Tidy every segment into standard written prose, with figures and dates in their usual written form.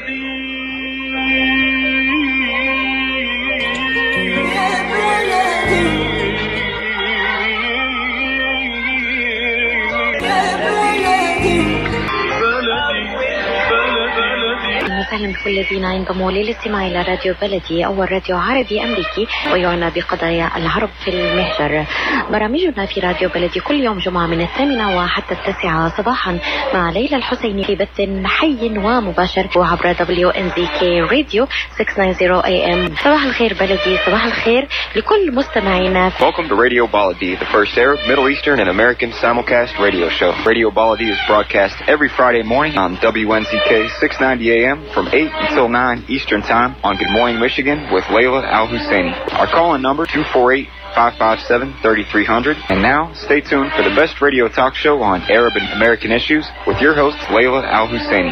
وسهلا بكل الذين ينضموا للاستماع إلى راديو بلدي، أول راديو عربي أمريكي ويعنى بقضايا العرب في المهجر. برامجنا في راديو بلدي كل يوم جمعة من 8 وحتى 9 صباحا مع ليلى الحسيني في بث حي ومباشر وعبر WNZK راديو 690 AM. صباح الخير بلدي، صباح الخير لكل مستمعينا. Welcome to Radio Baladi, the first Arab, Middle Eastern and American simulcast radio show. Radio Baladi is broadcast every Friday morning on WNZK 690 AM from 8 until 9 Eastern Time on Good Morning Michigan with Layla Al-Husseini. Our call-in number 248-557-3300. And now, stay tuned for the best radio talk show on Arab and American issues with your host, Layla Al-Husseini.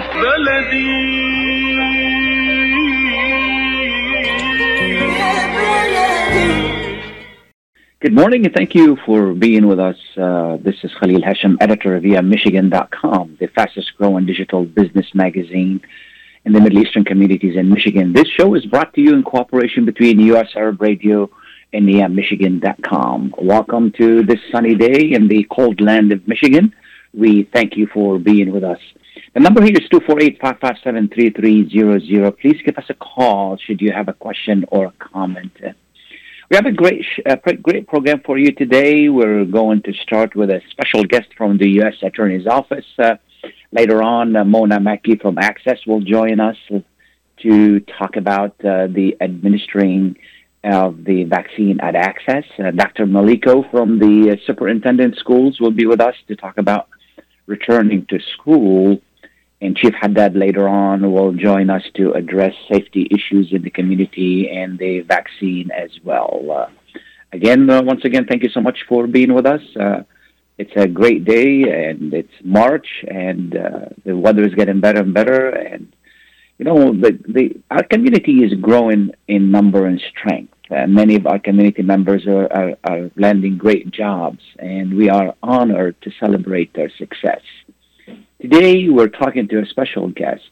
Good morning and thank you for being with us. This is Khalil Hashem, editor of Michigan.com, the fastest growing digital business magazine in the Middle Eastern communities in Michigan. This show is brought to you in cooperation between U.S. Arab Radio and Michigan.com. Welcome to this sunny day in the cold land of Michigan. We thank you for being with us. The number here is 248-557-3300. Please give us a call should you have a question or a comment. We have a great program for you today. We're going to start with a special guest from the U.S. Attorney's Office. Later on, Mona Mackey from Access will join us to talk about the administering of the vaccine at Access. Dr. Maliko from the Superintendent Schools will be with us to talk about returning to school. And Chief Haddad later on will join us to address safety issues in the community and the vaccine as well. Once again, thank you so much for being with us. It's a great day, and it's March, and the weather is getting better and better. And you know, our community is growing in number and strength. Many of our community members are landing great jobs, and we are honored to celebrate their success. Today, we're talking to a special guest,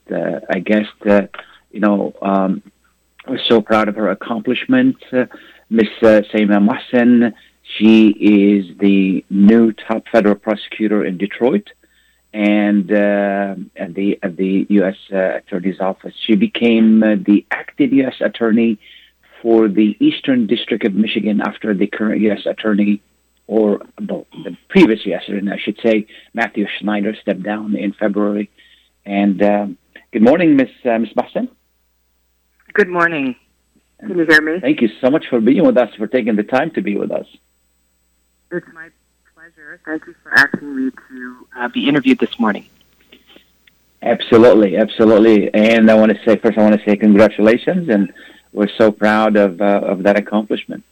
we're so proud of her accomplishments. Miss Saima Mohsen, she is the new top federal prosecutor in Detroit and at the U.S. Attorney's Office. She became the acting U.S. Attorney for the Eastern District of Michigan after the current U.S. Attorney, or the previous U.S. Attorney, I should say, Matthew Schneider, stepped down in February. And good morning, Miss Mohsen. Good morning. Can you hear me? Thank you so much for being with us, for taking the time to be with us. It's my pleasure. Thank you for asking me to be interviewed this morning. Absolutely. And I want to say congratulations, and we're so proud of that accomplishment.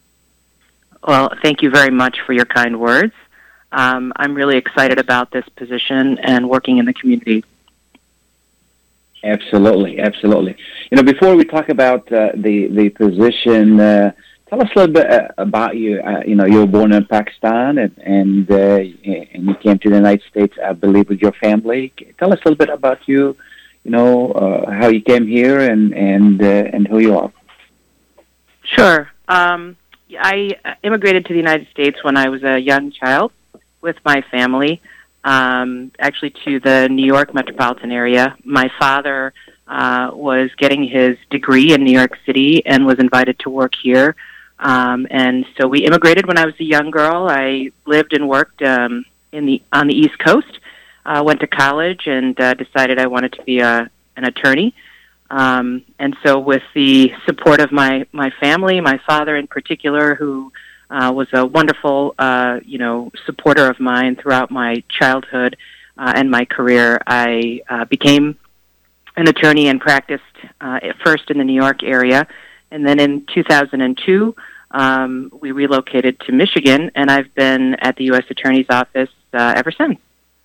Well, thank you very much for your kind words. I'm really excited about this position and working in the community. Absolutely. You know, before we talk about the position, tell us a little bit about you. You were born in Pakistan and you came to the United States, I believe, with your family. Tell us a little bit about you. How you came here and who you are. Sure. I immigrated to the United States when I was a young child with my family. Actually to the New York metropolitan area. My father was getting his degree in New York City and was invited to work here. And so we immigrated when I was a young girl. I lived and worked on the East Coast, went to college, and decided I wanted to be an attorney. And so with the support of my family, my father in particular, who was a wonderful, supporter of mine throughout my childhood and my career, I became an attorney and practiced first in the New York area. And then in 2002, we relocated to Michigan, and I've been at the U.S. Attorney's Office ever since.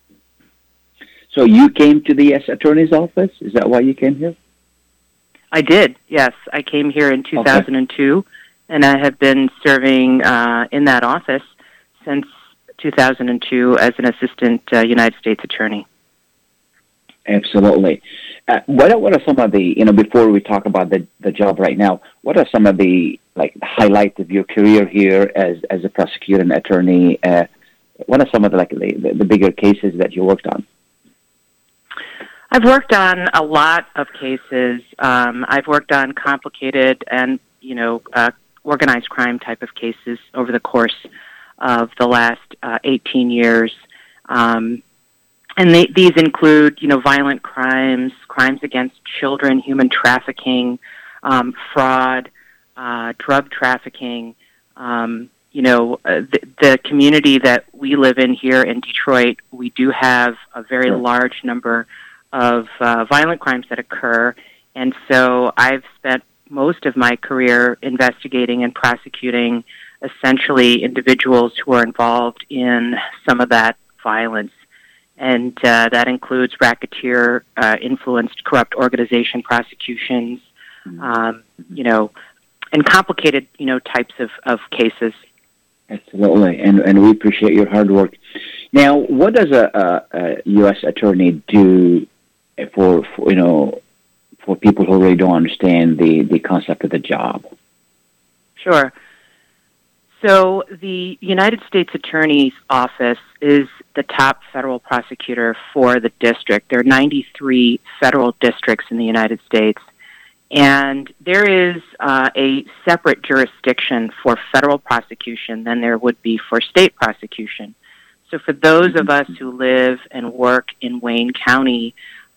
So you came to the U.S. Attorney's Office? Is that why you came here? I did, yes. I came here in 2002. Okay. And I have been serving in that office since 2002 as an assistant United States attorney. Absolutely. What are some of the, before we talk about the job right now, what are some of the highlights of your career here as a prosecutor and attorney? What are some of the bigger cases that you worked on? I've worked on a lot of cases. I've worked on complicated and, organized crime type of cases over the course of the last 18 years. And these include, violent crimes, crimes against children, human trafficking, fraud, drug trafficking. The community that we live in here in Detroit, we do have a very large number of violent crimes that occur. And so I've spent most of my career investigating and prosecuting essentially individuals who are involved in some of that violence. And that includes racketeer, influenced corrupt organization prosecutions, and complicated, types of cases. Absolutely, and we appreciate your hard work. Now, what does a U.S. attorney do for people who really don't understand the concept of the job? Sure. So the United States Attorney's Office is the top federal prosecutor for the district. There are 93 federal districts in the United States, and there is a separate jurisdiction for federal prosecution than there would be for state prosecution. So for those of us who live and work in Wayne County,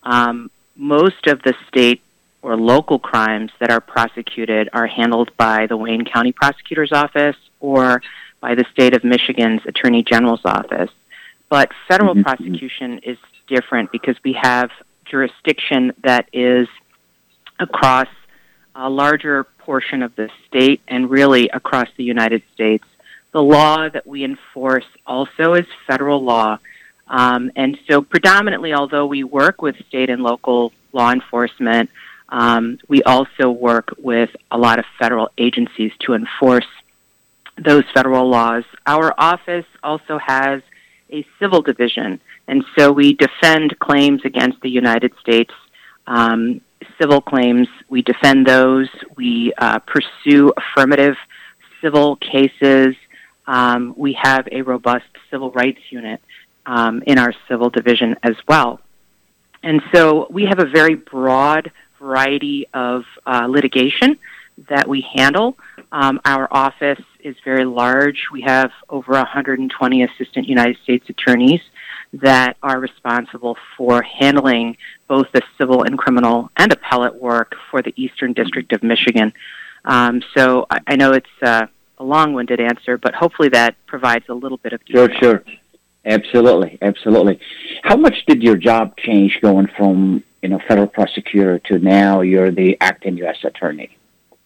most of the state or local crimes that are prosecuted are handled by the Wayne County Prosecutor's Office or by the state of Michigan's Attorney General's Office. But federal prosecution is different because we have jurisdiction that is across a larger portion of the state and really across the United States. The law that we enforce also is federal law. And so predominantly, although we work with state and local law enforcement, we also work with a lot of federal agencies to enforce those federal laws. Our office also has a civil division, and so we defend claims against the United States. Civil claims, we defend those. We pursue affirmative civil cases. We have a robust civil rights unit in our civil division as well. And so we have a very broad variety of litigation that we handle. Our office is very large. We have over 120 assistant United States attorneys that are responsible for handling both the civil and criminal and appellate work for the Eastern District of Michigan. So I know it's a long-winded answer, but hopefully that provides a little bit of detail. Sure. Absolutely. How much did your job change going from federal prosecutor to now you're the acting U.S. attorney?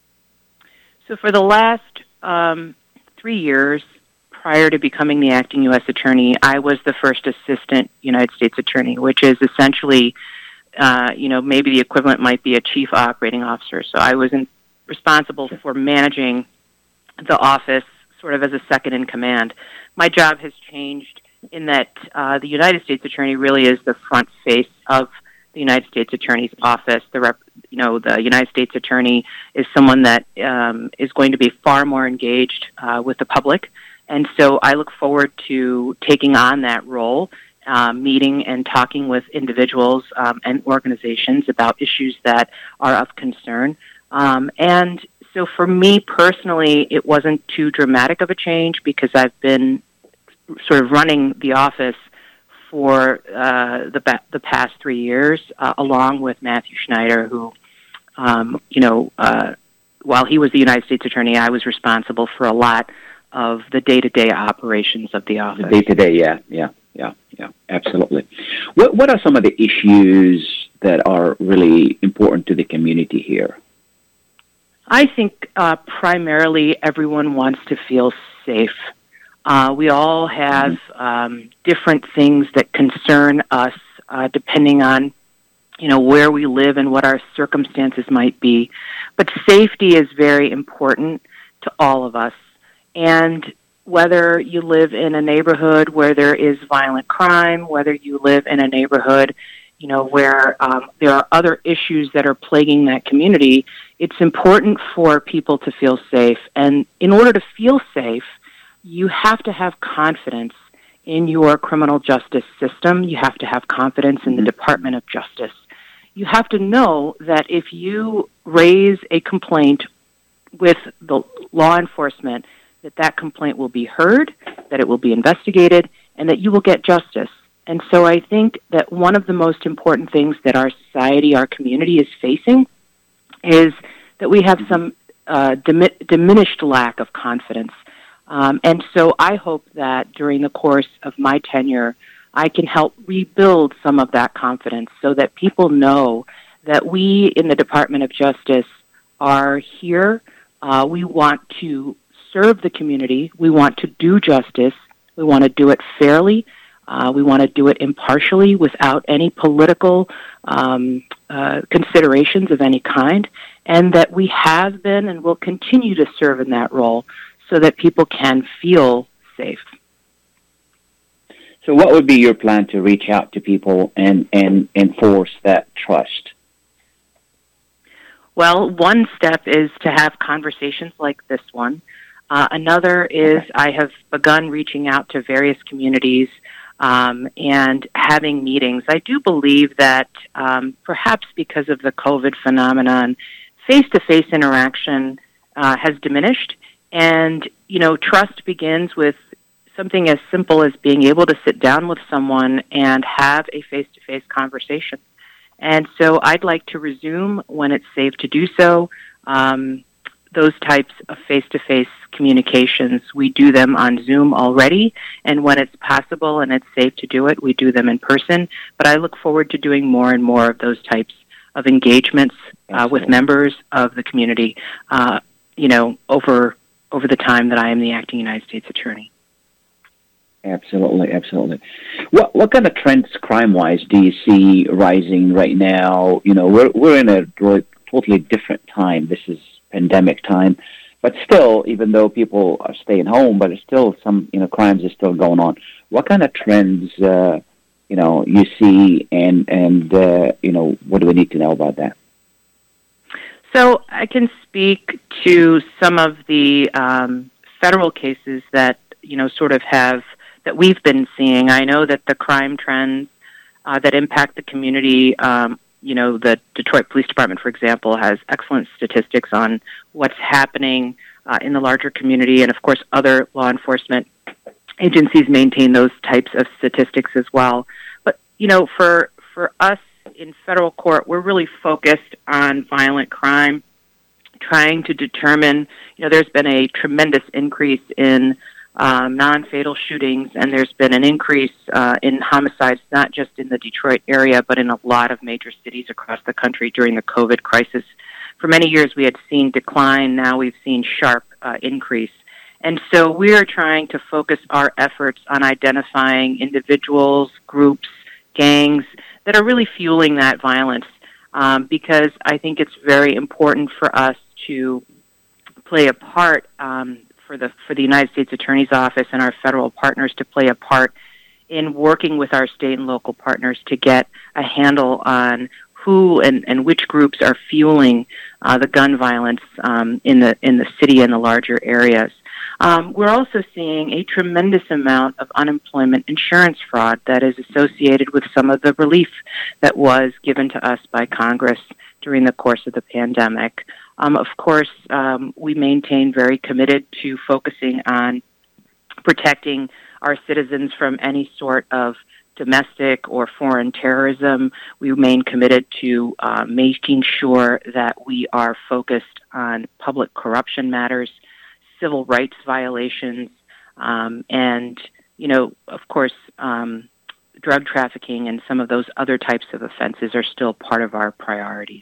So for the last 3 years prior to becoming the acting U.S. attorney, I was the first assistant United States attorney, which is essentially, maybe the equivalent might be a chief operating officer. So I was responsible for managing the office sort of as a second in command. My job has changed in that the United States attorney really is the front face of the United States Attorney's Office. The United States Attorney is someone that is going to be far more engaged with the public. And so I look forward to taking on that role, meeting and talking with individuals and organizations about issues that are of concern. And so for me personally, it wasn't too dramatic of a change because I've been sort of running the office for the past 3 years, along with Matthew Schneider, who, while he was the United States Attorney, I was responsible for a lot of the day-to-day operations of the office. Day-to-day, yeah, absolutely. What are some of the issues that are really important to the community here? I think primarily everyone wants to feel safe. We all have different things that concern us depending on, where we live and what our circumstances might be. But safety is very important to all of us. And whether you live in a neighborhood where there is violent crime, whether you live in a neighborhood where there are other issues that are plaguing that community, it's important for people to feel safe. And in order to feel safe, you have to have confidence in your criminal justice system. You have to have confidence in the Department of Justice. You have to know that if you raise a complaint with the law enforcement, that complaint will be heard, that it will be investigated, and that you will get justice. And so I think that one of the most important things that our society, our community is facing is that we have some diminished lack of confidence. And so I hope that during the course of my tenure, I can help rebuild some of that confidence so that people know that we in the Department of Justice are here. We want to serve the community. We want to do justice. We want to do it fairly. We want to do it impartially without any political considerations of any kind, and that we have been and will continue to serve in that role so that people can feel safe. So what would be your plan to reach out to people and enforce that trust? Well, one step is to have conversations like this one. Another is I have begun reaching out to various communities and having meetings. I do believe that perhaps because of the COVID phenomenon, face-to-face interaction has diminished. And, trust begins with something as simple as being able to sit down with someone and have a face-to-face conversation. And so I'd like to resume, when it's safe to do so, those types of face-to-face communications. We do them on Zoom already, and when it's possible and it's safe to do it, we do them in person. But I look forward to doing more and more of those types of engagements with members of the community, over the time that I am the acting United States Attorney. Absolutely, absolutely. What kind of trends, crime-wise, do you see rising right now? We're in a totally different time. This is pandemic time, but still, even though people are staying home, but it's still some crimes are still going on. What kind of trends you see, and what do we need to know about that? So I can speak to some of the federal cases that that we've been seeing. I know that the crime trends that impact the community, the Detroit Police Department, for example, has excellent statistics on what's happening in the larger community, and of course other law enforcement agencies maintain those types of statistics as well. But for us in federal court, we're really focused on violent crime, trying to determine, there's been a tremendous increase in non-fatal shootings, and there's been an increase in homicides, not just in the Detroit area, but in a lot of major cities across the country during the COVID crisis. For many years, we had seen decline. Now we've seen sharp increase. And so we are trying to focus our efforts on identifying individuals, groups, gangs that are really fueling that violence, because I think it's very important for us to play a part, for the United States Attorney's Office and our federal partners to play a part in working with our state and local partners to get a handle on who and which groups are fueling the gun violence in the city and the larger areas. We're also seeing a tremendous amount of unemployment insurance fraud that is associated with some of the relief that was given to us by Congress during the course of the pandemic. Of course, we maintain very committed to focusing on protecting our citizens from any sort of domestic or foreign terrorism. We remain committed to making sure that we are focused on public corruption matters, civil rights violations, and, of course, drug trafficking and some of those other types of offenses are still part of our priorities.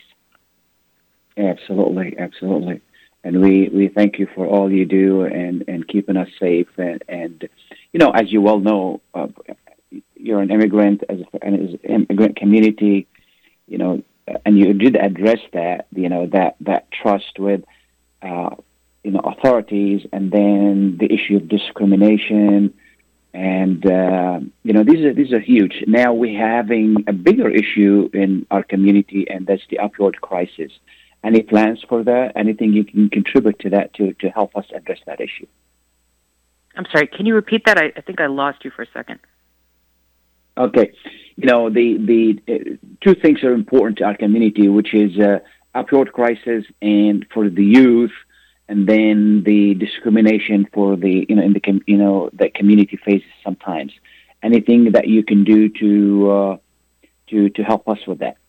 Absolutely, absolutely. And we thank you for all you do and keeping us safe. And as you well know, you're an immigrant, as an immigrant community, and you did address that, that trust with, authorities, and then the issue of discrimination And these are huge. Now we're having a bigger issue in our community, and that's the opioid crisis. Any plans for that? Anything you can contribute to that to help us address that issue? I'm sorry, can you repeat that? I think I lost you for a second. Okay. The two things are important to our community, which is opioid crisis and for the youth, and then the discrimination for that community faces sometimes. Anything that you can do to help us with that?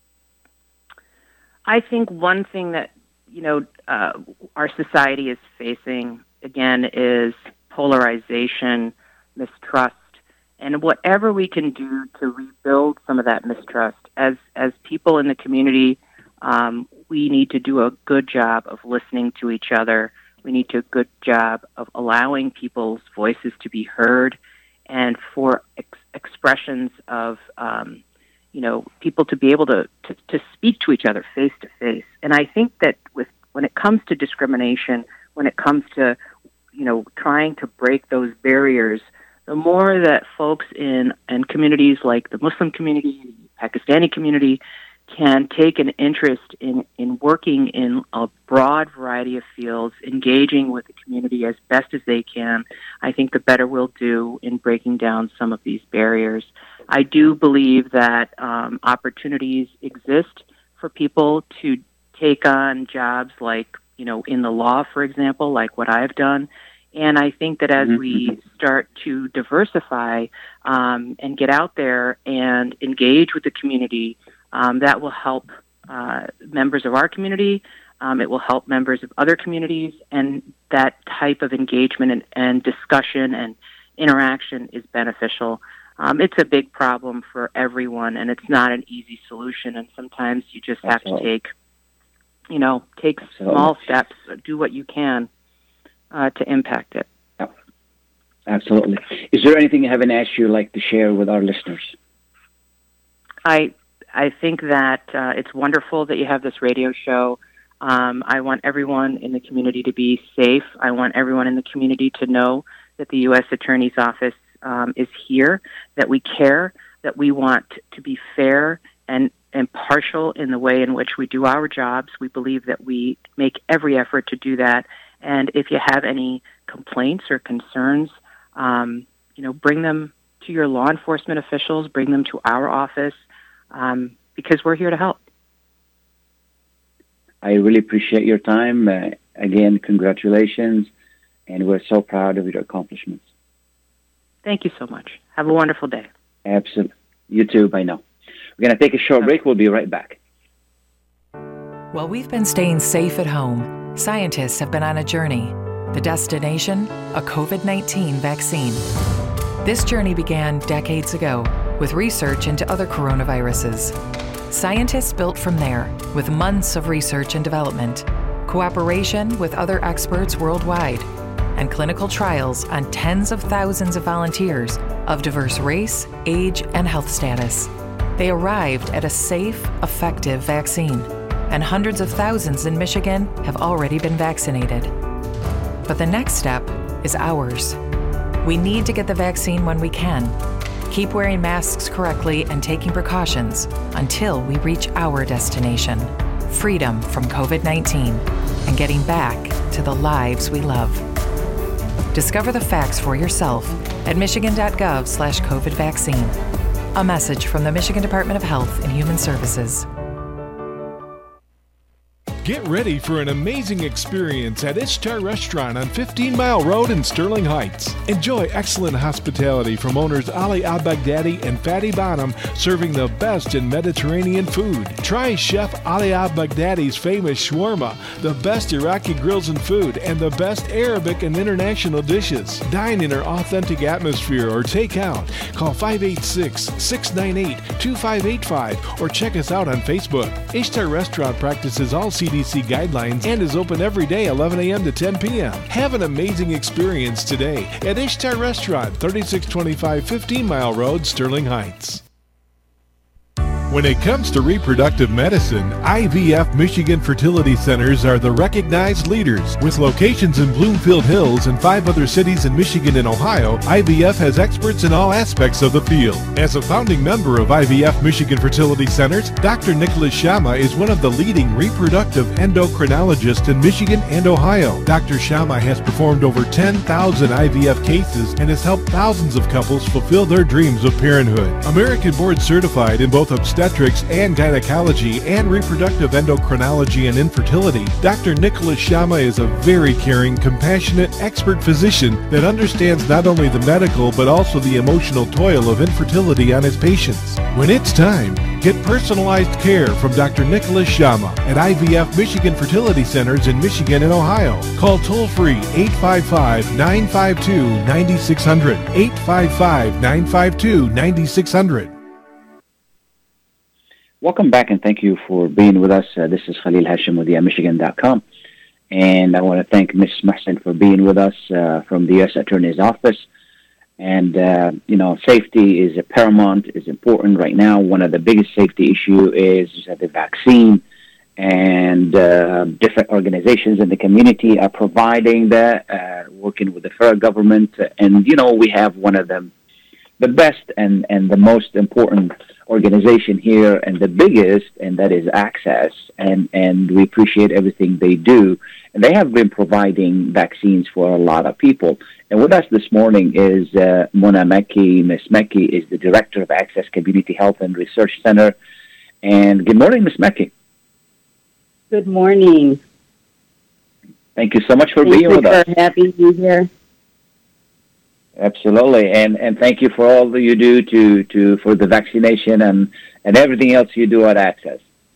I think one thing that our society is facing again is polarization, mistrust, and whatever we can do to rebuild some of that mistrust. As people in the community, we need to do a good job of listening to each other. We need to do a good job of allowing people's voices to be heard, and for expressions of people to be able to speak to each other face to face. And I think that when it comes to discrimination, when it comes to trying to break those barriers, the more that folks in communities like the Muslim community, the Pakistani community, can take an interest in working in a broad variety of fields, engaging with the community as best as they can, I think the better we'll do in breaking down some of these barriers. I do believe that opportunities exist for people to take on jobs like, in the law, for example, like what I've done. And I think that as we start to diversify and get out there and engage with the community, that will help members of our community. It will help members of other communities, and that type of engagement and discussion and interaction is beneficial. It's a big problem for everyone, and it's not an easy solution. And sometimes you just have to take small steps, do what you can to impact it. Yep. Absolutely. Is there anything I haven't asked you like to share with our listeners? I think that it's wonderful that you have this radio show. I want everyone in the community to be safe. I want everyone in the community to know that the U.S. Attorney's Office is here, that we care, that we want to be fair and impartial in the way in which we do our jobs. We believe that we make every effort to do that. And if you have any complaints or concerns, bring them to your law enforcement officials, bring them to our office, because we're here to help. I really appreciate your time. Again, congratulations, and we're so proud of your accomplishments. Thank you so much. Have a wonderful day. Absolutely. You too, by now. We're going to take a short break. We'll be right back. While we've been staying safe at home, scientists have been on a journey. The destination, a COVID-19 vaccine. This journey began decades ago with research into other coronaviruses. Scientists built from there with months of research and development, cooperation with other experts worldwide, and clinical trials on tens of thousands of volunteers of diverse race, age, and health status. They arrived at a safe, effective vaccine, and hundreds of thousands in Michigan have already been vaccinated. But the next step is ours. We need to get the vaccine when we can. Keep wearing masks correctly and taking precautions until we reach our destination, freedom from COVID-19, and getting back to the lives we love. Discover the facts for yourself at michigan.gov/COVID vaccine. A message from the Michigan Department of Health and Human Services. Get ready for an amazing experience at Ishtar Restaurant on 15 Mile Road in Sterling Heights. Enjoy excellent hospitality from owners Ali Al-Baghdadi and Fatty Bonham, serving the best in Mediterranean food. Try Chef Ali Al-Baghdadi's famous shawarma, the best Iraqi grills and food, and the best Arabic and international dishes. Dine in our authentic atmosphere or take out. Call 586-698-2585 or check us out on Facebook. Ishtar Restaurant practices all CDC guidelines and is open every day 11 a.m. to 10 p.m. Have an amazing experience today at Ishtar Restaurant, 3625 15 Mile Road, Sterling Heights. When it comes to reproductive medicine, IVF Michigan Fertility Centers are the recognized leaders. With locations in Bloomfield Hills and 5 other cities in Michigan and Ohio, IVF has experts in all aspects of the field. As a founding member of IVF Michigan Fertility Centers, Dr. Nicholas Shama is one of the leading reproductive endocrinologists in Michigan and Ohio. Dr. Shama has performed over 10,000 IVF cases and has helped thousands of couples fulfill their dreams of parenthood. American board certified in both obstetrics and gynecology and reproductive endocrinology and infertility, Dr. Nicholas Shama is a very caring, compassionate, expert physician that understands not only the medical but also the emotional toil of infertility on his patients. When it's time, get personalized care from Dr. Nicholas Shama at IVF Michigan Fertility Centers in Michigan and Ohio. Call toll-free 855-952-9600, 855-952-9600. Welcome back, and thank you for being with us. This is Khalil Hashim with Michigan.com, and I want to thank Ms. Mohsen for being with us from the U.S. Attorney's Office. And, safety is paramount, is important right now. One of the biggest safety issue is the vaccine, and different organizations in the community are providing that, working with the federal government. And, we have one of the best and the most important organization here, and the biggest, and that is Access, and we appreciate everything they do. And they have been providing vaccines for a lot of people. And with us this morning is Mona Mekki. Ms. Mekki is the director of Access Community Health and Research Center. And good morning, Ms. Mekki. Good morning. Thank you so much for being with us. Thank you for having me here. Absolutely, and thank you for all that you do for the vaccination and everything else you do at Access.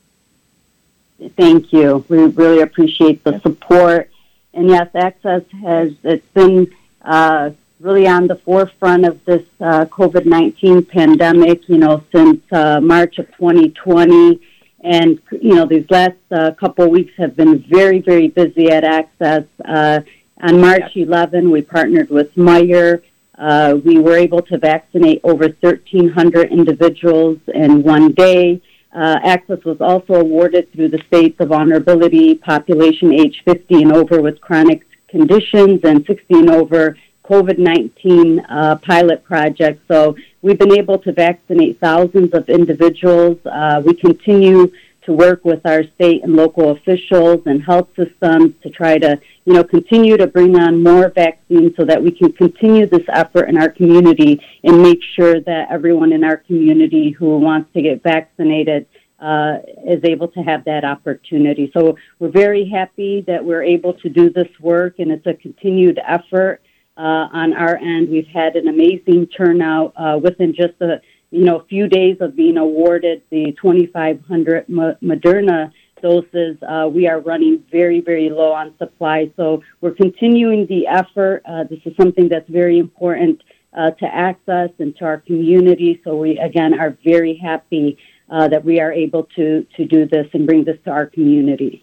Thank you. We really appreciate the support. And yes, Access it's been really on the forefront of this COVID-19 pandemic, since March of 2020. And, these last couple of weeks have been very, very busy at Access. On March 11, we partnered with Meijer. We were able to vaccinate over 1,300 individuals in one day. Access was also awarded through the States of Vulnerability Population age 50 and over with chronic conditions and 60 and over COVID-19 pilot project. So we've been able to vaccinate thousands of individuals. We continue to work with our state and local officials and health systems to try to, continue to bring on more vaccines so that we can continue this effort in our community and make sure that everyone in our community who wants to get vaccinated is able to have that opportunity. So we're very happy that we're able to do this work, and it's a continued effort on our end. We've had an amazing turnout within just a few days of being awarded the 2,500 Moderna doses. We are running very, very low on supply. So we're continuing the effort. This is something that's very important to Access and to our community. So we, again, are very happy that we are able to do this and bring this to our community.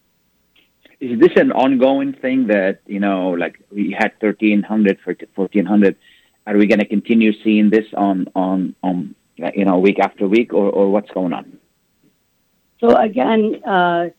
Is this an ongoing thing that, like we had 1,300 for 1,400? Are we going to continue seeing this on week after week, or what's going on? So again, as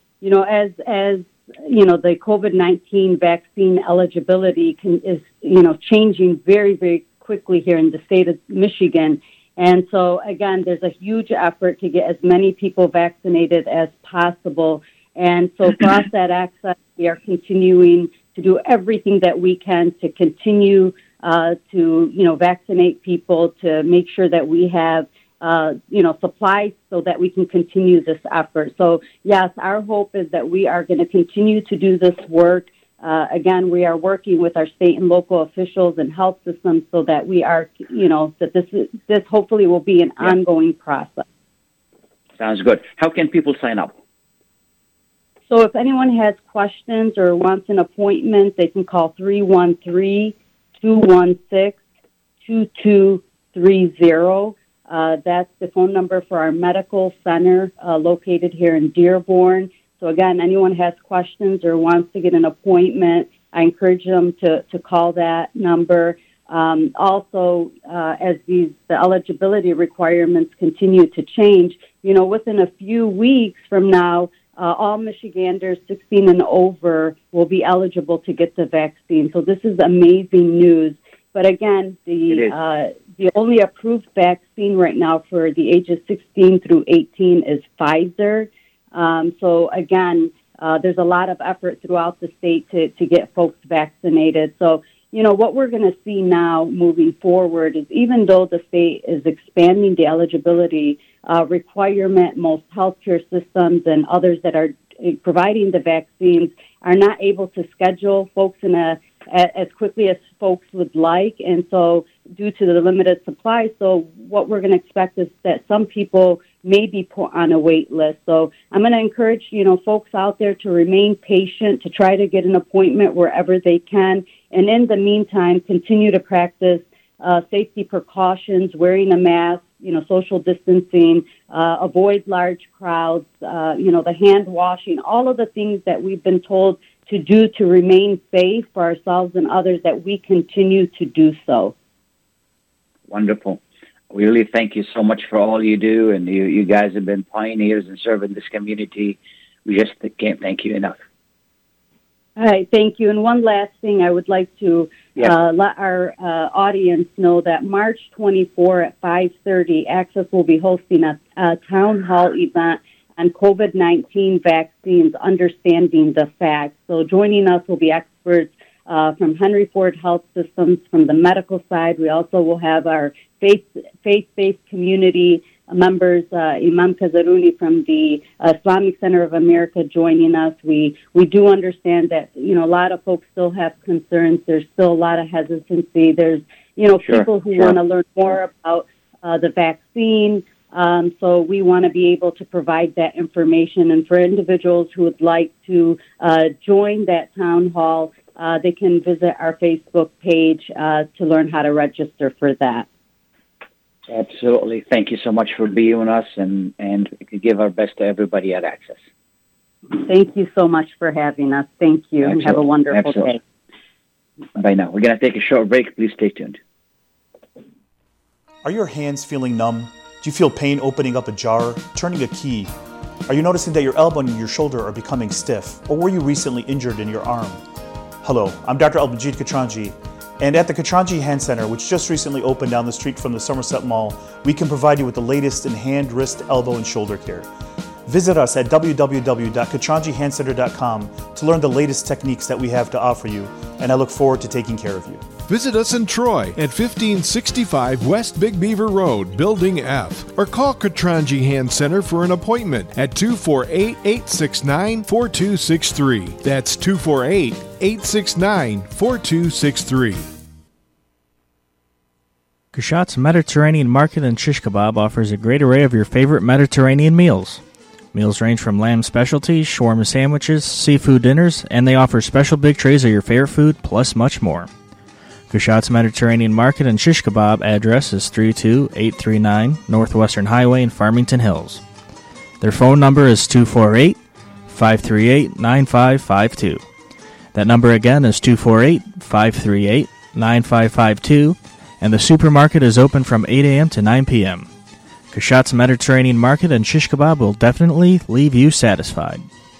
the COVID-19 vaccine eligibility is changing very, very quickly here in the state of Michigan. And so again, there's a huge effort to get as many people vaccinated as possible. And so for us at Access, we are continuing to do everything that we can to continue to vaccinate people, to make sure that we have supplies so that we can continue this effort. So yes, our hope is that we are going to continue to do this work. Again, we are working with our state and local officials and health systems so that we are, that this hopefully will be an ongoing process. Sounds good. How can people sign up? So if anyone has questions or wants an appointment, they can call 313-216-2230. That's the phone number for our medical center located here in Dearborn. So again, anyone has questions or wants to get an appointment, I encourage them to call that number. Also, as the eligibility requirements continue to change, within a few weeks from now, all Michiganders 16 and over will be eligible to get the vaccine. So this is amazing news. But again, the only approved vaccine right now for the ages 16 through 18 is Pfizer. So again, there's a lot of effort throughout the state to get folks vaccinated. So, what we're going to see now moving forward is even though the state is expanding the eligibility requirement, most healthcare systems and others that are providing the vaccines are not able to schedule folks as quickly as folks would like. And so due to the limited supply, so what we're going to expect is that some people may be put on a wait list. So I'm going to encourage, folks out there to remain patient, to try to get an appointment wherever they can. And in the meantime, continue to practice safety precautions, wearing a mask, social distancing, avoid large crowds, the hand washing, all of the things that we've been told to do to remain safe for ourselves and others, that we continue to do so. Wonderful. We really thank you so much for all you do, and you guys have been pioneers in serving this community. We just can't thank you enough. All right, thank you. And one last thing, I would like to let our audience know that March 24 at 5:30, Access will be hosting a town hall event on COVID-19 vaccines, understanding the facts. So joining us will be experts from Henry Ford Health Systems from the medical side. We also will have our faith-based community members, Imam Kazarouni from the Islamic Center of America joining us. We do understand that, a lot of folks still have concerns. There's still a lot of hesitancy. There's, people who want to learn more about the vaccine. So we want to be able to provide that information. And for individuals who would like to join that town hall, they can visit our Facebook page to learn how to register for that. Absolutely. Thank you so much for being with us, and we can give our best to everybody at Access. Thank you so much for having us. Thank you. Absolutely. And have a wonderful day. Bye now. We're going to take a short break. Please stay tuned. Are your hands feeling numb? Do you feel pain opening up a jar, turning a key? Are you noticing that your elbow and your shoulder are becoming stiff? Or were you recently injured in your arm? Hello, I'm Dr. Al-Majid Katranji. And at the Katranji Hand Center, which just recently opened down the street from the Somerset Mall, we can provide you with the latest in hand, wrist, elbow, and shoulder care. Visit us at www.katranjihandcenter.com to learn the latest techniques that we have to offer you, and I look forward to taking care of you. Visit us in Troy at 1565 West Big Beaver Road, Building F, or call Katranji Hand Center for an appointment at 248-869-4263. That's 248-869-4263. Kashat's Mediterranean Market and Shish Kebab offers a great array of your favorite Mediterranean meals. Meals range from lamb specialties, shawarma sandwiches, seafood dinners, and they offer special big trays of your favorite food, plus much more. Kashat's Mediterranean Market and Shish Kebab address is 32839 Northwestern Highway in Farmington Hills. Their phone number is 248-538-9552. That number again is 248-538-9552. And the supermarket is open from 8 a.m. to 9 p.m. Kashat's Mediterranean Market and Shish Kebab will definitely leave you satisfied.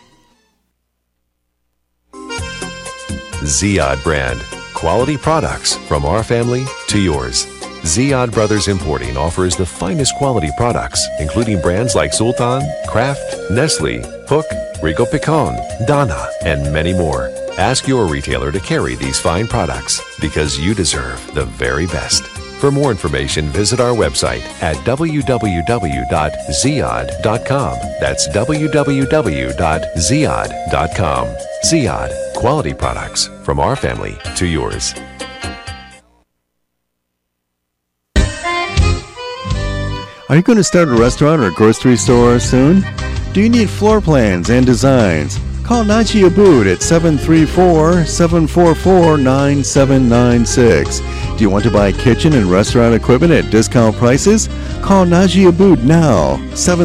Ziyad brand. Quality products from our family to yours. Ziyad Brothers Importing offers the finest quality products, including brands like Sultan, Kraft, Nestle, Hook, Rico Picon, Donna, and many more. Ask your retailer to carry these fine products because you deserve the very best. For more information, visit our website at www.ziyad.com. That's www.ziyad.com. Ziyad, quality products from our family to yours. Are you going to start a restaurant or grocery store soon? Do you need floor plans and designs? Call Najee Abood at 734-744-9796. Do you want to buy kitchen and restaurant equipment at discount prices? Call Najee Abood now,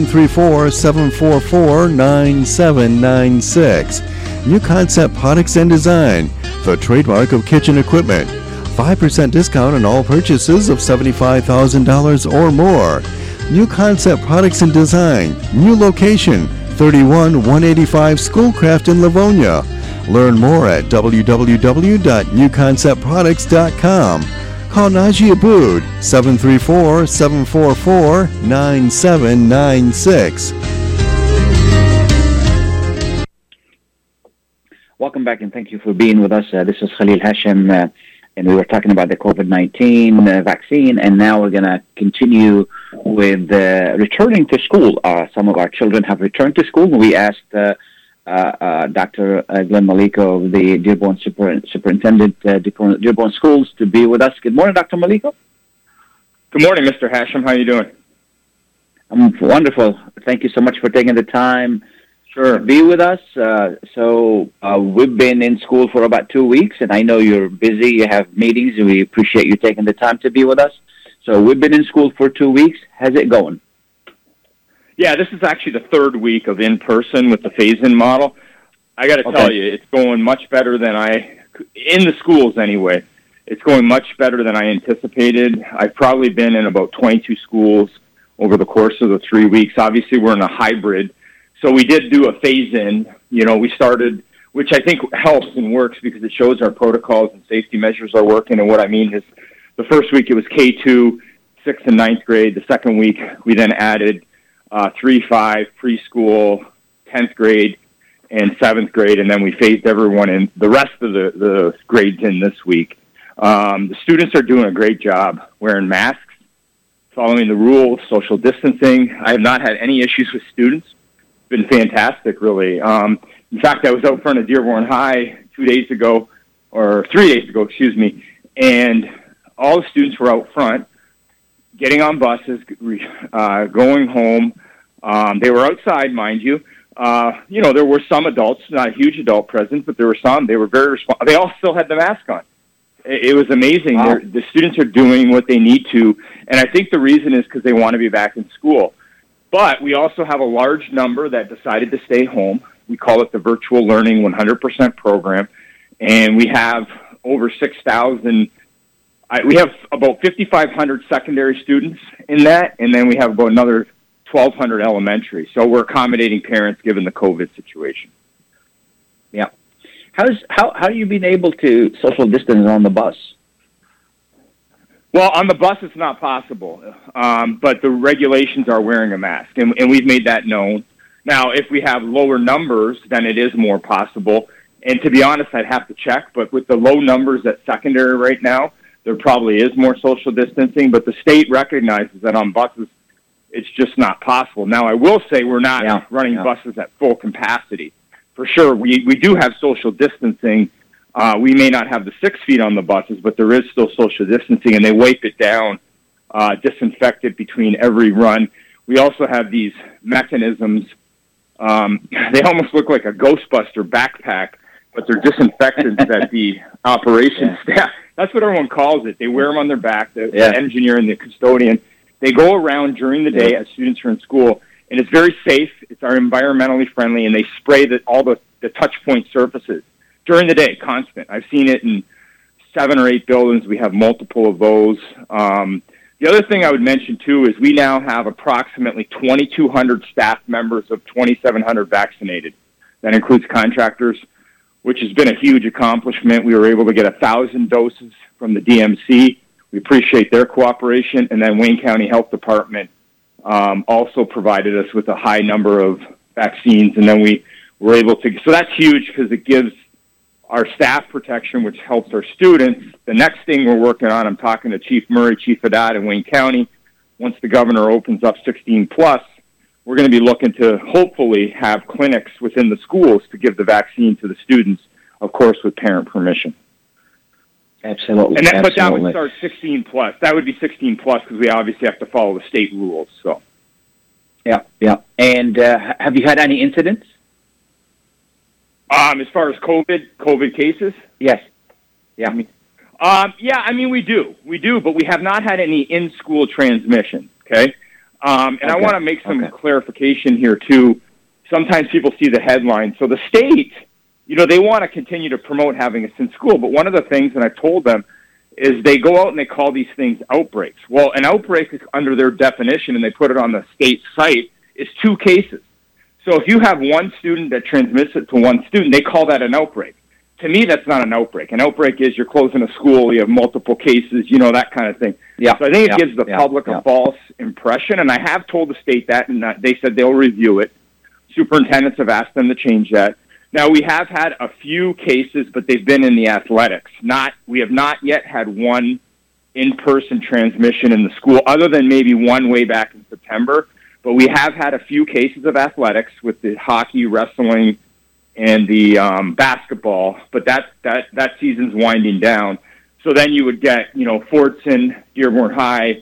734-744-9796. New Concept Products and Design, the trademark of kitchen equipment. 5% discount on all purchases of $75,000 or more. New Concept Products and Design. New location, 31185 Schoolcraft in Livonia. Learn more at www.newconceptproducts.com. Call Najee Abood, 734-744-9796. Welcome back, and thank you for being with us. This is Khalil Hashim, and we were talking about the COVID-19 vaccine, and now we're going to continue with returning to school. Some of our children have returned to school. We asked Dr. Glenn Maliko, the Dearborn Superintendent, Dearborn Schools, to be with us. Good morning, Dr. Maliko. Good morning, Mr. Hashim. How are you doing? I'm wonderful. Thank you so much for taking the time to be with us. We've been in school for about 2 weeks, and I know you're busy. You have meetings, and we appreciate you taking the time to be with us. So we've been in school for 2 weeks. How's it going? Yeah, this is actually the third week of in-person with the phase-in model. I got to tell you, it's going much better than in the schools anyway, it's going much better than I anticipated. I've probably been in about 22 schools over the course of the 3 weeks. Obviously, we're in a hybrid. So we did do a phase-in. We started, which I think helps and works because it shows our protocols and safety measures are working. And what I mean is the first week it was K2, 6th and 9th grade. The second week we then added 3-5 preschool, 10th grade, and 7th grade, and then we phased everyone in, the rest of the grades in this week. The students are doing a great job wearing masks, following the rules, social distancing. I have not had any issues with students. It's been fantastic, really. In fact, I was out front of Dearborn High 3 days ago, and all the students were out front, getting on buses, going home. They were outside, mind you. There were some adults, not a huge adult presence, but there were some. They were very responsive. They all still had the mask on. It was amazing. Wow. The students are doing what they need to, and I think the reason is because they want to be back in school. But we also have a large number that decided to stay home. We call it the Virtual Learning 100% program, and we have over 6,000. We have about 5,500 secondary students in that, and then we have about another 1,200 elementary. So we're accommodating parents given the COVID situation. Yeah. How you been able to social distance on the bus? Well, on the bus it's not possible, but the regulations are wearing a mask, and we've made that known. Now, if we have lower numbers, then it is more possible. And to be honest, I'd have to check, but with the low numbers at secondary right now, there probably is more social distancing, but the state recognizes that on buses, it's just not possible. Now, I will say we're not running buses at full capacity. For sure, we do have social distancing. We may not have the 6 feet on the buses, but there is still social distancing, and they wipe it down, disinfect it between every run. We also have these mechanisms. They almost look like a Ghostbuster backpack, but they're disinfectants that the operations staff, that's what everyone calls it. They wear them on their back, the engineer and the custodian. They go around during the day as students are in school, and it's very safe. It's environmentally friendly, and they spray all the touch point surfaces during the day, constant. I've seen it in 7 or 8 buildings. We have multiple of those. The other thing I would mention, too, is we now have approximately 2,200 staff members of 2,700 vaccinated. That includes contractors, which has been a huge accomplishment. We were able to get 1,000 doses from the DMC. We appreciate their cooperation. And then Wayne County Health Department also provided us with a high number of vaccines. And then we were able to, so that's huge because it gives our staff protection, which helps our students. The next thing we're working on, I'm talking to Chief Murray, Chief Haddad in Wayne County. Once the governor opens up 16 plus, we're going to be looking to hopefully have clinics within the schools to give the vaccine to the students, of course, with parent permission. Absolutely. But that would start 16 plus. That would be 16 plus because we obviously have to follow the state rules. So. Yeah. And have you had any incidents? As far as COVID cases? Yes. Yeah. We do, but we have not had any in-school transmission, okay? I want to make some clarification here, too. Sometimes people see the headline. So the state, they want to continue to promote having us in school, but one of the things, and I've told them, is they go out and they call these things outbreaks. Well, an outbreak is under their definition, and they put it on the state site, is 2 cases. So if you have one student that transmits it to one student, they call that an outbreak. To me, that's not an outbreak. An outbreak is you're closing a school, you have multiple cases, that kind of thing. Yeah. So I think it gives the public a false impression, and I have told the state that, and they said they'll review it. Superintendents have asked them to change that. Now, we have had a few cases, but they've been in the athletics. We have not yet had one in-person transmission in the school, other than maybe one way back in September. But we have had a few cases of athletics with the hockey, wrestling, and the basketball. But that season's winding down. So then you would get, Fortson, Dearborn High,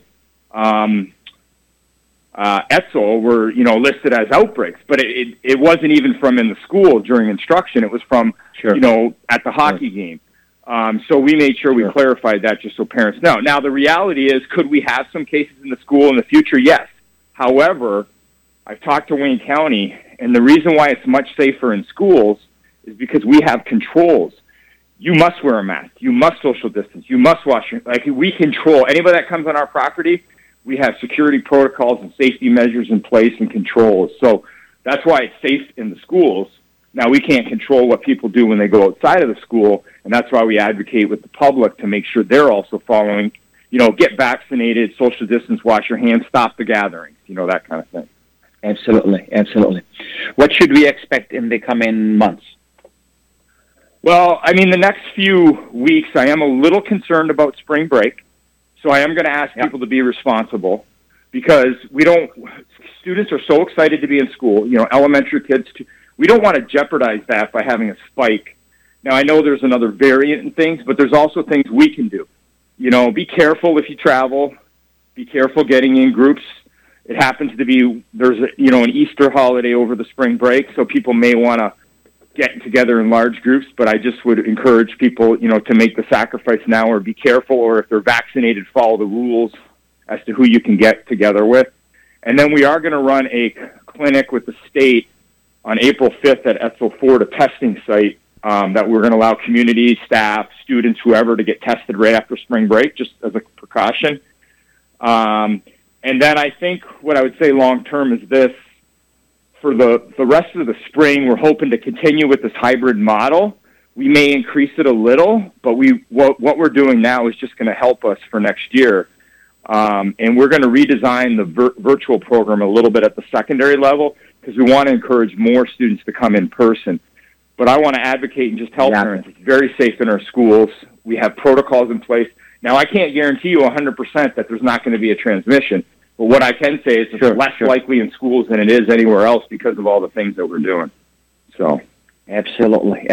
Etzel were, listed as outbreaks, but it wasn't even from in the school during instruction. It was from, at the hockey game. So we made sure we clarified that just so parents know. Now, the reality is, could we have some cases in the school in the future? Yes. However, I've talked to Wayne County, and the reason why it's much safer in schools is because we have controls. You must wear a mask. You must social distance. You must wash your, we control anybody that comes on our property. We have security protocols and safety measures in place and controls. So that's why it's safe in the schools. Now, we can't control what people do when they go outside of the school, and that's why we advocate with the public to make sure they're also following, get vaccinated, social distance, wash your hands, stop the gatherings, that kind of thing. Absolutely, absolutely. What should we expect in the coming months? Well, the next few weeks, I am a little concerned about spring break. So I am going to ask people to be responsible, because students are so excited to be in school, elementary kids, we don't want to jeopardize that by having a spike. Now, I know there's another variant and things, but there's also things we can do. Be careful if you travel, be careful getting in groups. It happens to be, there's an Easter holiday over the spring break, so people may want to get together in large groups, but I just would encourage people, to make the sacrifice now, or be careful, or if they're vaccinated, follow the rules as to who you can get together with. And then we are going to run a clinic with the state on April 5th at Etzel Ford, a testing site that we're going to allow community, staff, students, whoever, to get tested right after spring break, just as a precaution. And then I think what I would say long-term is this. For the rest of the spring, we're hoping to continue with this hybrid model. We may increase it a little, but what we're doing now is just going to help us for next year. And we're going to redesign the virtual program a little bit at the secondary level, because we want to encourage more students to come in person. But I want to advocate and just tell parents it's very safe in our schools. We have protocols in place. Now, I can't guarantee you 100% that there's not going to be a transmission. But what I can say is it's less likely in schools than it is anywhere else because of all the things that we're doing. So, absolutely.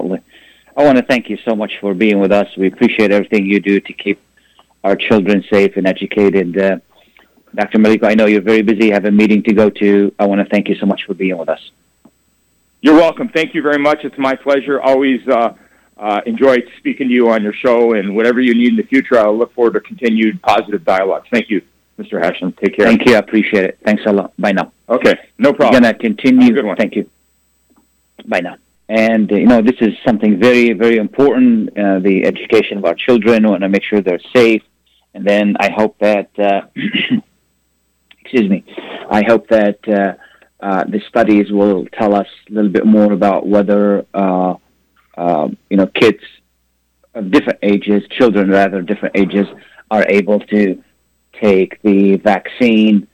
I want to thank you so much for being with us. We appreciate everything you do to keep our children safe and educated. Dr. Maliko, I know you're very busy, have a meeting to go to. I want to thank you so much for being with us. You're welcome. Thank you very much. It's my pleasure. Always enjoy speaking to you on your show, and whatever you need in the future, I'll look forward to continued positive dialogue. Thank you, Mr. Hashem. Take care. Thank you. I appreciate it. Thanks a lot. Bye now. Okay. No problem. We're going to continue. Good one. Thank you. Bye now. And, this is something very, very important, the education of our children. We want to make sure they're safe. And then I hope that, I hope that the studies will tell us a little bit more about whether, kids of different ages, children rather, different ages, are able to take the vaccine.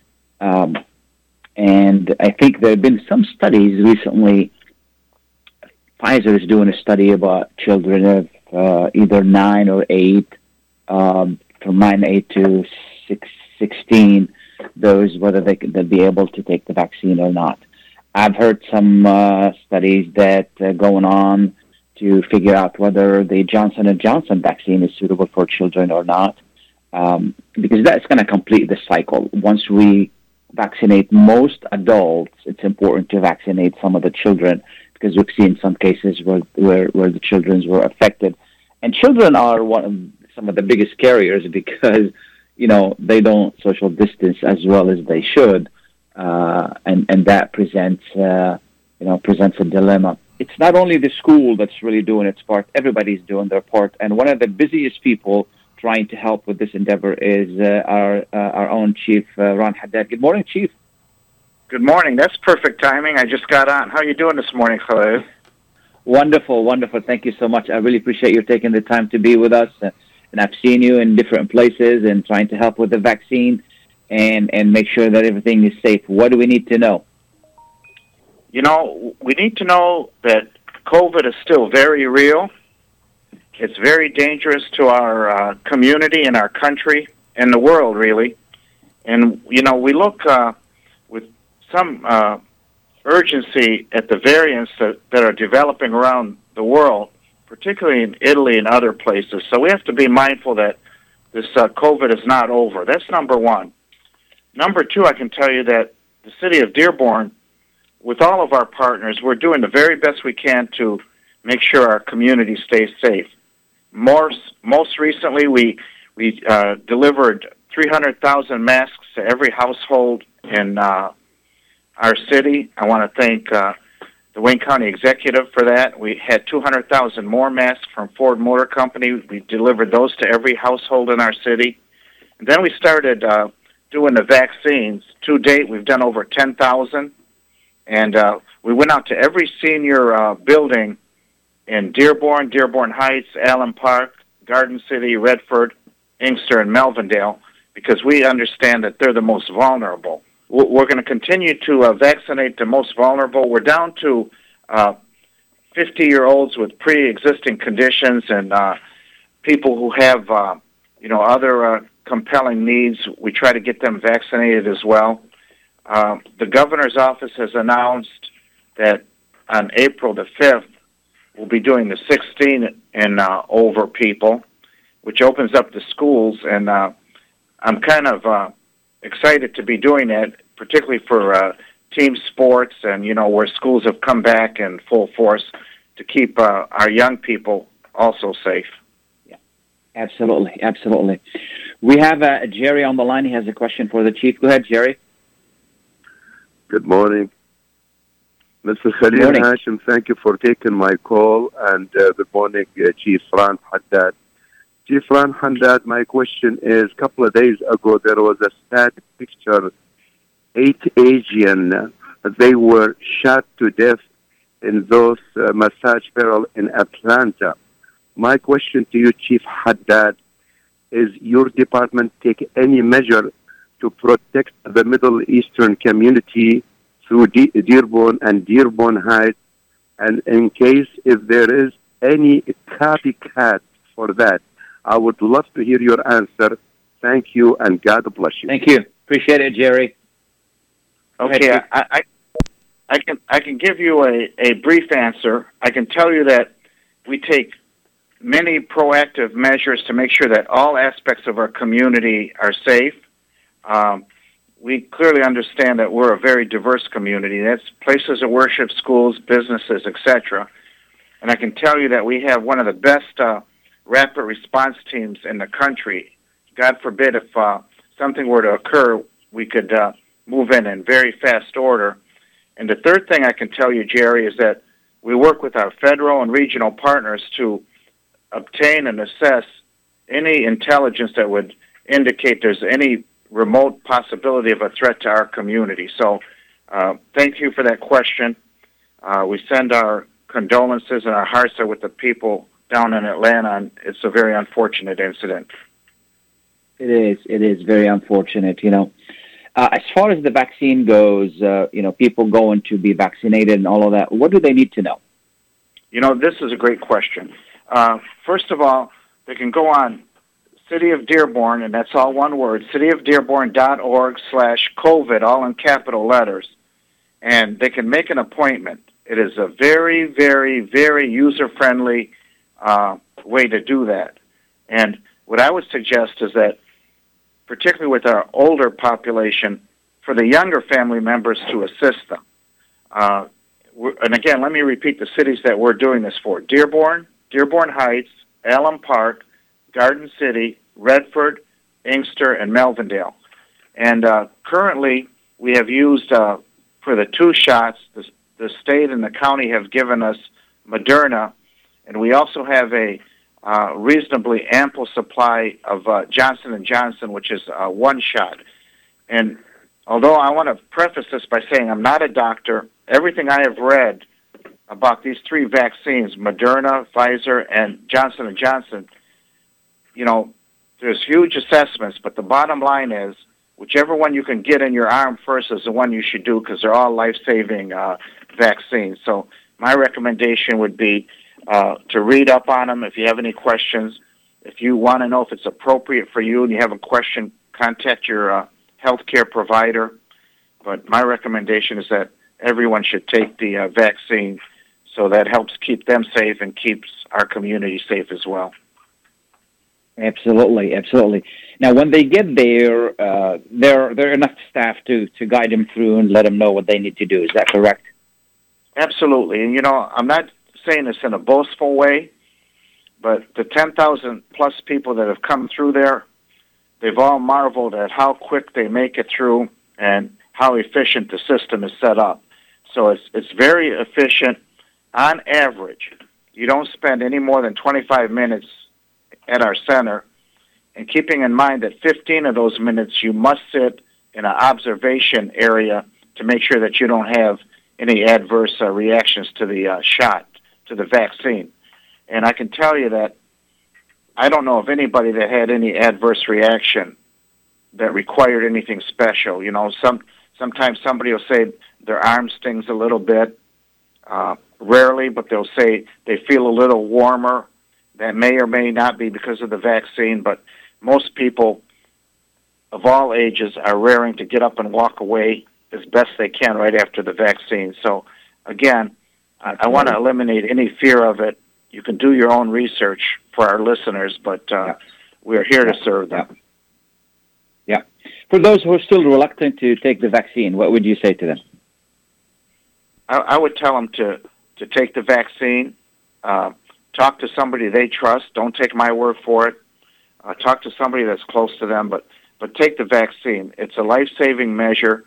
And I think there have been some studies recently. Pfizer is doing a study about children of either 9 or 8, from 9, 8 to 16, whether they'll be able to take the vaccine or not. I've heard some studies that going on to figure out whether the Johnson & Johnson vaccine is suitable for children or not, because that's going to complete the cycle. Once we vaccinate most adults, it's important to vaccinate some of the children, because we've seen some cases where the children were affected. And children are some of the biggest carriers because, they don't social distance as well as they should. And that presents a dilemma. It's not only the school that's really doing its part. Everybody's doing their part. And one of the busiest people trying to help with this endeavor is our own Chief Ron Haddad. Good morning, Chief. Good morning. That's perfect timing. I just got on. How are you doing this morning, Khalid? Wonderful, wonderful. Thank you so much. I really appreciate you taking the time to be with us. And I've seen you in different places and trying to help with the vaccine and make sure that everything is safe. What do we need to know? You know, we need to know that COVID is still very real. It's very dangerous to our community and our country and the world, really. And, you know, we look with some urgency at the variants that are developing around the world, particularly in Italy and other places. So we have to be mindful that this COVID is not over. That's number one. Number two, I can tell you that the city of Dearborn, with all of our partners, we're doing the very best we can to make sure our community stays safe. Most recently, we delivered 300,000 masks to every household in our city. I want to thank the Wayne County Executive for that. We had 200,000 more masks from Ford Motor Company. We delivered those to every household in our city. And then we started doing the vaccines. To date, we've done over 10,000. And we went out to every senior building in Dearborn, Dearborn Heights, Allen Park, Garden City, Redford, Inkster, and Melvindale, because we understand that they're the most vulnerable. We're going to continue to vaccinate the most vulnerable. We're down to 50-year-olds with pre-existing conditions and people who have, other compelling needs. We try to get them vaccinated as well. The governor's office has announced that on April the 5th, we'll be doing the 16 and over people, which opens up the schools, and I'm kind of excited to be doing that, particularly for team sports and, where schools have come back in full force to keep our young people also safe. Yeah, absolutely, absolutely. We have Jerry on the line. He has a question for the chief. Go ahead, Jerry. Good morning. Mr. Khalil Hashim, thank you for taking my call, and good morning, Chief Ron Haddad. Chief Ron Haddad, my question is, a couple of days ago, there was a sad picture. 8 Asians, they were shot to death in those massage parlors in Atlanta. My question to you, Chief Haddad, is your department take any measure to protect the Middle Eastern community through Dearborn and Dearborn Heights, and in case if there is any copycat for that, I would love to hear your answer. Thank you, and God bless you. Thank you. Appreciate it, Jerry. Okay, I can give you a brief answer. I can tell you that we take many proactive measures to make sure that all aspects of our community are safe. We clearly understand that we're a very diverse community. That's places of worship, schools, businesses, etc. And I can tell you that we have one of the best rapid response teams in the country. God forbid if something were to occur, we could move in very fast order. And the third thing I can tell you, Jerry, is that we work with our federal and regional partners to obtain and assess any intelligence that would indicate there's any remote possibility of a threat to our community. So thank you for that question. We send our condolences and our hearts are with the people down in Atlanta, and it's a very unfortunate incident. It is very unfortunate, As far as the vaccine goes, people going to be vaccinated and all of that, what do they need to know? This is a great question. First of all, they can go on City of Dearborn, and that's all one word, cityofdearborn.org/COVID, all in capital letters, and they can make an appointment. It is a very, very, very user-friendly way to do that. And what I would suggest is that, particularly with our older population, for the younger family members to assist them. And again, let me repeat the cities that we're doing this for. Dearborn, Dearborn Heights, Allen Park, Garden City, Redford, Inkster, and Melvindale. And currently, we have used, for the 2 shots, the state and the county have given us Moderna, and we also have a reasonably ample supply of Johnson & Johnson, which is one shot. And although I want to preface this by saying I'm not a doctor, everything I have read about these three vaccines, Moderna, Pfizer, and Johnson & Johnson, you know, there's huge assessments, but the bottom line is whichever one you can get in your arm first is the one you should do because they're all life-saving vaccines. So my recommendation would be to read up on them if you have any questions. If you want to know if it's appropriate for you and you have a question, contact your healthcare provider. But my recommendation is that everyone should take the vaccine, so that helps keep them safe and keeps our community safe as well. Absolutely, absolutely. Now, when they get there, there are enough staff to guide them through and let them know what they need to do. Is that correct? Absolutely. And, you know, I'm not saying this in a boastful way, but the 10,000 plus people that have come through there, they've all marveled at how quick they make it through and how efficient the system is set up. So it's very efficient. On average, you don't spend any more than 25 minutes at our center, and keeping in mind that 15 of those minutes you must sit in an observation area to make sure that you don't have any adverse reactions to the shot, to the vaccine. And I can tell you that I don't know of anybody that had any adverse reaction that required anything special. You know, sometimes somebody will say their arm stings a little bit, rarely, but they'll say they feel a little warmer. That may or may not be because of the vaccine, but most people of all ages are raring to get up and walk away as best they can right after the vaccine. So, again, I want to eliminate any fear of it. You can do your own research for our listeners, but we're here to serve them. Yeah. For those who are still reluctant to take the vaccine, what would you say to them? I would tell them to take the vaccine. Talk to somebody they trust. Don't take my word for it. Talk to somebody that's close to them, but take the vaccine. It's a life-saving measure.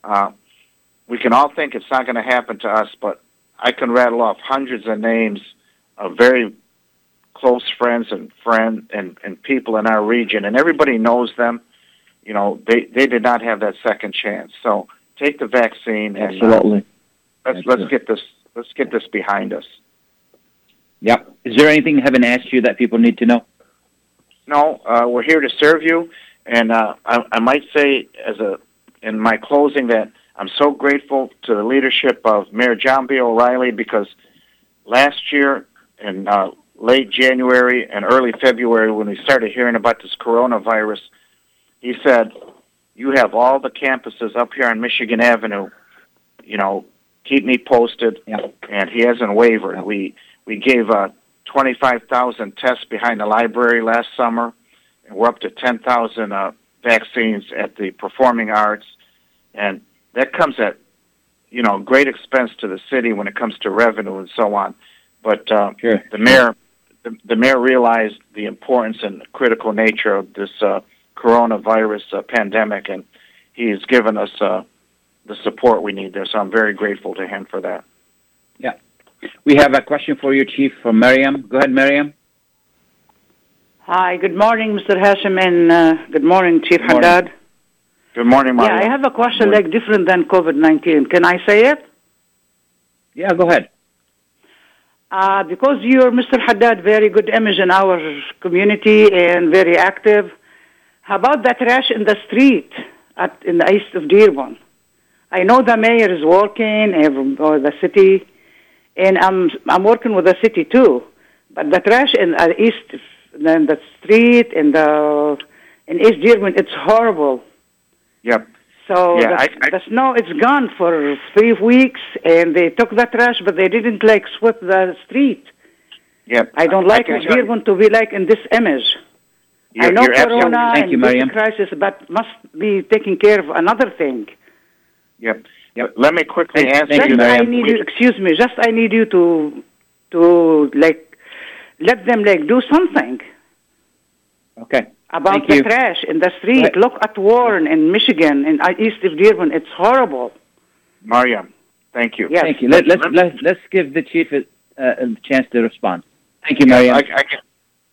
We can all think it's not going to happen to us, but I can rattle off hundreds of names of very close friends and people in our region, and everybody knows them. You know, they did not have that second chance. So take the vaccine and absolutely. Let's get this behind us. Yep. Is there anything I haven't asked you that people need to know? No, we're here to serve you, and I might say in my closing that I'm so grateful to the leadership of Mayor John B. O'Reilly, because last year in late January and early February, when we started hearing about this coronavirus, he said, "You have all the campuses up here on Michigan Avenue. You know, keep me posted." Yeah. And he hasn't wavered. Yeah. We gave 25,000 tests behind the library last summer, and we're up to 10,000 vaccines at the performing arts, and that comes at, you know, great expense to the city when it comes to revenue and so on. But sure. the mayor realized the importance and critical nature of this coronavirus pandemic, and he has given us the support we need there. So I'm very grateful to him for that. Yeah. We have a question for you, Chief, from Miriam. Go ahead, Miriam. Hi, good morning, Mr. Hashim, and good morning, Chief Haddad. Good morning, Maria. Yeah, I have a question like different than COVID-19. Can I say it? Yeah, go ahead. Because you're, Mr. Haddad, very good image in our community and very active. How about that trash in the street in the east of Dearborn? I know the mayor is working, or the city, and I'm working with the city too. But the trash in the east, in the street, in East Dearborn, it's horrible. Yep. So the snow is gone for 3 weeks, and they took the trash, but they didn't like sweep the street. Yep. I don't like Dearborn to be like in this image. I know Corona and this crisis, but must be taking care of another thing. Yep. Let me quickly answer you. Excuse me. Just I need you to like let them like do something. Okay. About the trash in the street. Right. Look at Warren in Michigan, in east of Dearborn. It's horrible. Mariam, thank you. Yes. Thank you. Let's give the chief a chance to respond. Thank you, Mariam.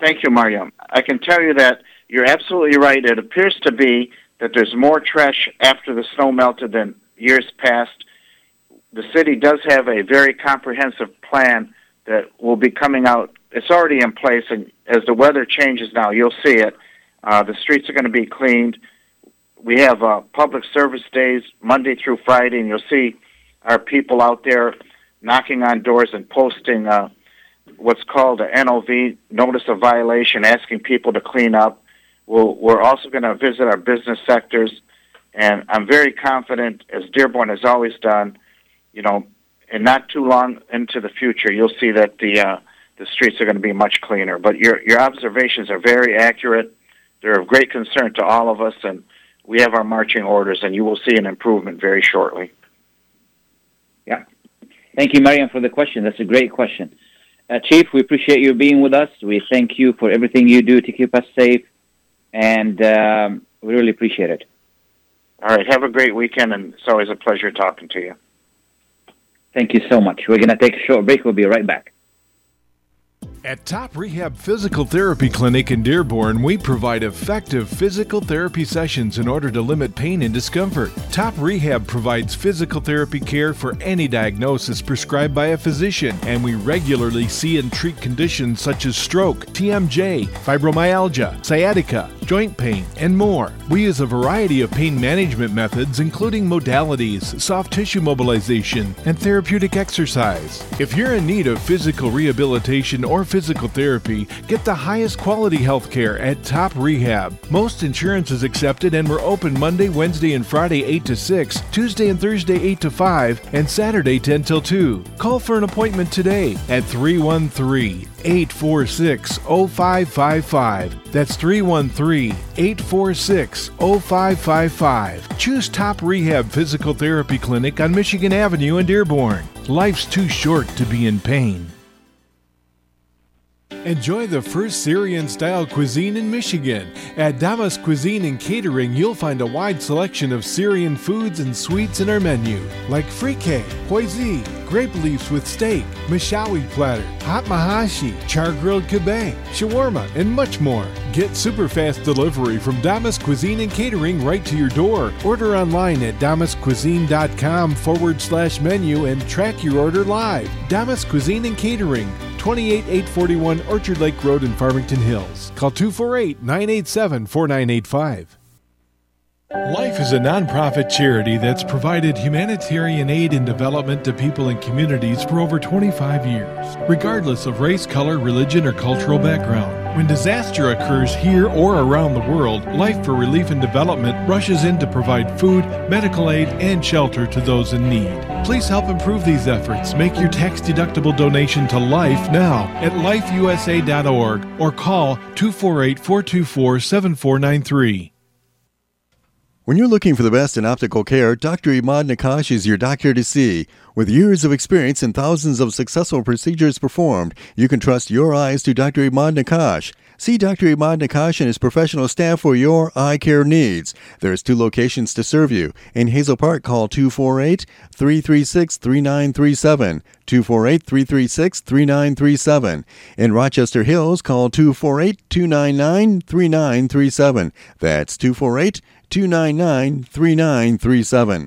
Thank you, Mariam. I can tell you that you're absolutely right. It appears to be that there's more trash after the snow melted than years past. The city does have a very comprehensive plan that will be coming out. It's already in place, and as the weather changes now, you'll see it. The streets are going to be cleaned. We have public service days Monday through Friday, and you'll see our people out there knocking on doors and posting what's called a NOV, Notice of Violation, asking people to clean up. We're also going to visit our business sectors, and I'm very confident, as Dearborn has always done, and not too long into the future, you'll see that the streets are going to be much cleaner. But your observations are very accurate. They're of great concern to all of us, and we have our marching orders, and you will see an improvement very shortly. Yeah. Thank you, Mariam, for the question. That's a great question. Chief, we appreciate you being with us. We thank you for everything you do to keep us safe, and we really appreciate it. All right. Have a great weekend, and it's always a pleasure talking to you. Thank you so much. We're going to take a short break. We'll be right back. At Top Rehab Physical Therapy Clinic in Dearborn, we provide effective physical therapy sessions in order to limit pain and discomfort. Top Rehab provides physical therapy care for any diagnosis prescribed by a physician, and we regularly see and treat conditions such as stroke, TMJ, fibromyalgia, sciatica, joint pain, and more. We use a variety of pain management methods, including modalities, soft tissue mobilization, and therapeutic exercise. If you're in need of physical rehabilitation or physical therapy, get the highest quality health care at Top Rehab. Most insurance is accepted, and we're open Monday, Wednesday, and Friday 8 to 6, Tuesday and Thursday 8 to 5, and Saturday 10 till 2. Call for an appointment today at 313-846-0555. That's 313-846-0555. Choose Top Rehab Physical Therapy Clinic on Michigan Avenue in Dearborn. Life's too short to be in pain. Enjoy the first Syrian-style cuisine in Michigan. At Damas Cuisine and Catering, you'll find a wide selection of Syrian foods and sweets in our menu, like frikeh, poezi, grape leaves with steak, mishawi platter, hot mahashi, char-grilled kebab, shawarma, and much more. Get super fast delivery from Damas Cuisine and Catering right to your door. Order online at damascuisine.com/menu and track your order live. Damas Cuisine and Catering, 28841 Orchard Lake Road in Farmington Hills. Call 248-987-4985. Life is a nonprofit charity that's provided humanitarian aid and development to people and communities for over 25 years, regardless of race, color, religion, or cultural background. When disaster occurs here or around the world, Life for Relief and Development rushes in to provide food, medical aid, and shelter to those in need. Please help improve these efforts. Make your tax-deductible donation to Life now at lifeusa.org or call 248-424-7493. When you're looking for the best in optical care, Dr. Imad Nakash is your doctor to see. With years of experience and thousands of successful procedures performed, you can trust your eyes to Dr. Imad Nakash. See Dr. Imad Nakash and his professional staff for your eye care needs. There's 2 locations to serve you. In Hazel Park, call 248-336-3937. 248-336-3937. In Rochester Hills, call 248-299-3937. That's 248-299-3937.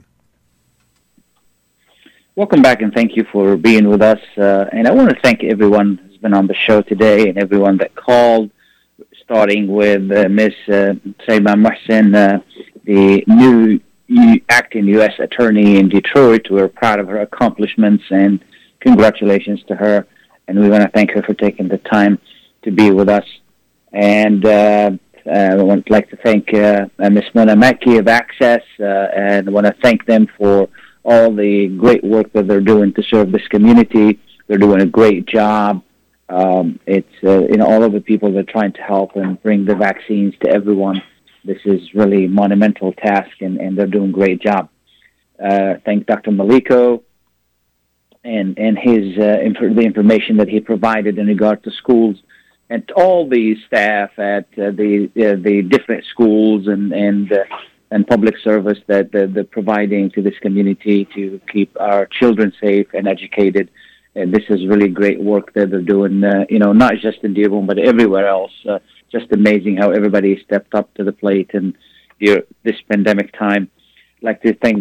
Welcome back, and thank you for being with us. And I want to thank everyone who's been on the show today and everyone that called, starting with Ms. Saima Mohsen, the new acting U.S. attorney in Detroit. We're proud of her accomplishments, and congratulations to her. And we want to thank her for taking the time to be with us. And I would like to thank Ms. Mona Mackey of Access, and I want to thank them for all the great work that they're doing to serve this community. They're doing a great job. It's all of the people that are trying to help and bring the vaccines to everyone. This is really a monumental task, and they're doing a great job. Thank Dr. Maliko and his the information that he provided in regard to schools, and all the staff at the different schools and public service that they're providing to this community to keep our children safe and educated. this is really great work that they're doing, not just in Dearborn, but everywhere else. Just amazing how everybody stepped up to the plate in this pandemic time. I'd like to thank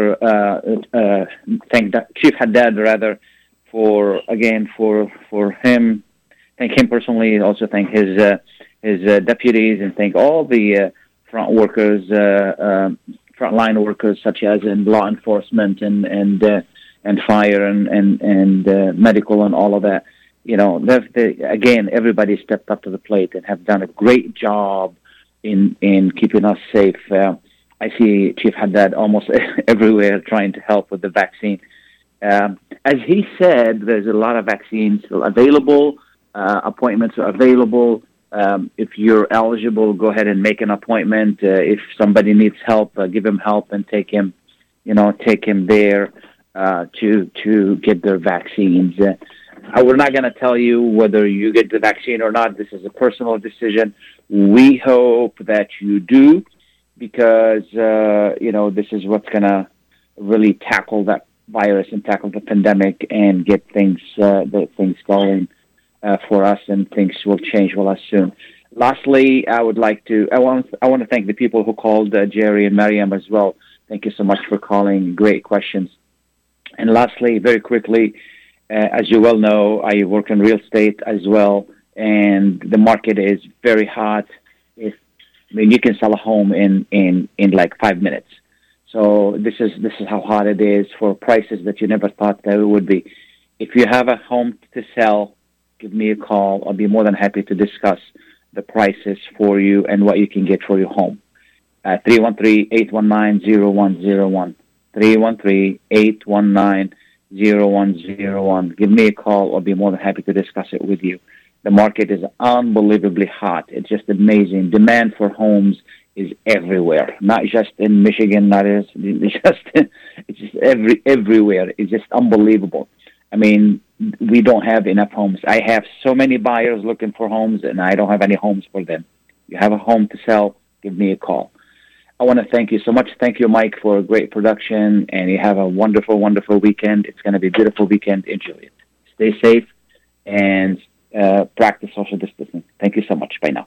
Chief Haddad, rather, for him. Thank him personally. Also thank his deputies, and thank all the frontline workers, such as in law enforcement and fire and medical and all of that. Again, everybody stepped up to the plate and have done a great job in keeping us safe. I see Chief Haddad almost everywhere trying to help with the vaccine. As he said, there's a lot of vaccines still available. Appointments are available. If you're eligible, go ahead and make an appointment. If somebody needs help, give him help and take him there to get their vaccines. We're not going to tell you whether you get the vaccine or not. This is a personal decision. We hope that you do, because this is what's going to really tackle that virus and tackle the pandemic and get things going for us, and things will change with us soon. Lastly, I want to thank the people who called, Jerry and Mariam as well. Thank you so much for calling. Great questions. And lastly, very quickly, as you well know, I work in real estate as well, and the market is very hot. You can sell a home in like 5 minutes. So this is how hot it is for prices that you never thought that it would be. If you have a home to sell, give me a call. I'll be more than happy to discuss the prices for you and what you can get for your home. 313-819-0101. 313-819-0101. Give me a call. I'll be more than happy to discuss it with you. The market is unbelievably hot. It's just amazing. Demand for homes is everywhere, not just in Michigan, it's just everywhere. It's just unbelievable. I mean, we don't have enough homes. I have so many buyers looking for homes, and I don't have any homes for them. You have a home to sell, give me a call. I want to thank you so much. Thank you, Mike, for a great production, and you have a wonderful, wonderful weekend. It's going to be a beautiful weekend. Enjoy it. Stay safe and practice social distancing. Thank you so much. Bye now.